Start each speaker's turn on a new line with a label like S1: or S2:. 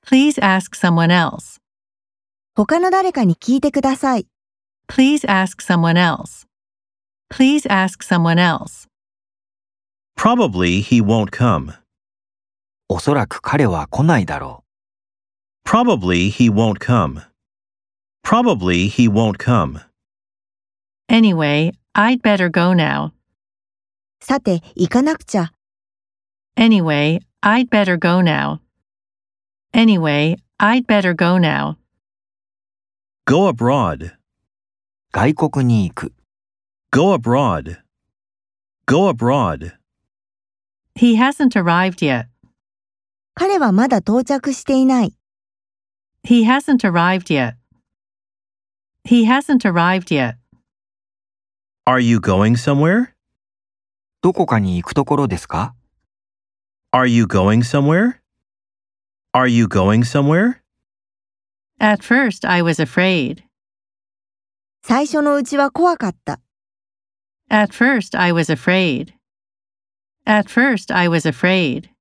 S1: Please ask someone else.
S2: 他の誰かに聞いてください。
S1: Please ask someone else. Please ask someone else.
S3: Probably he won't come.
S4: おそらく彼は来ないだろ
S3: Probably he won't come. Probably he won't come.
S1: Anyway, I'd better go now.
S2: さて、行かなくちゃ。
S1: Anyway, I'd better go now. Anyway, I'd better go now.
S3: Go abroad.
S4: う。外国に行く。
S3: Go abroad. Go abroad.
S1: He hasn't arrived yet.
S2: 彼はまだ到着していない。
S1: He hasn't arrived yet. He hasn't arrived yet.
S3: Are you going somewhere?
S4: どこかに行くところですか
S3: Are you going somewhere? Are you going somewhere?
S1: At first, I was afraid.
S2: 最初のうちは怖かった。
S1: At first, I was afraid. At first, I was afraid.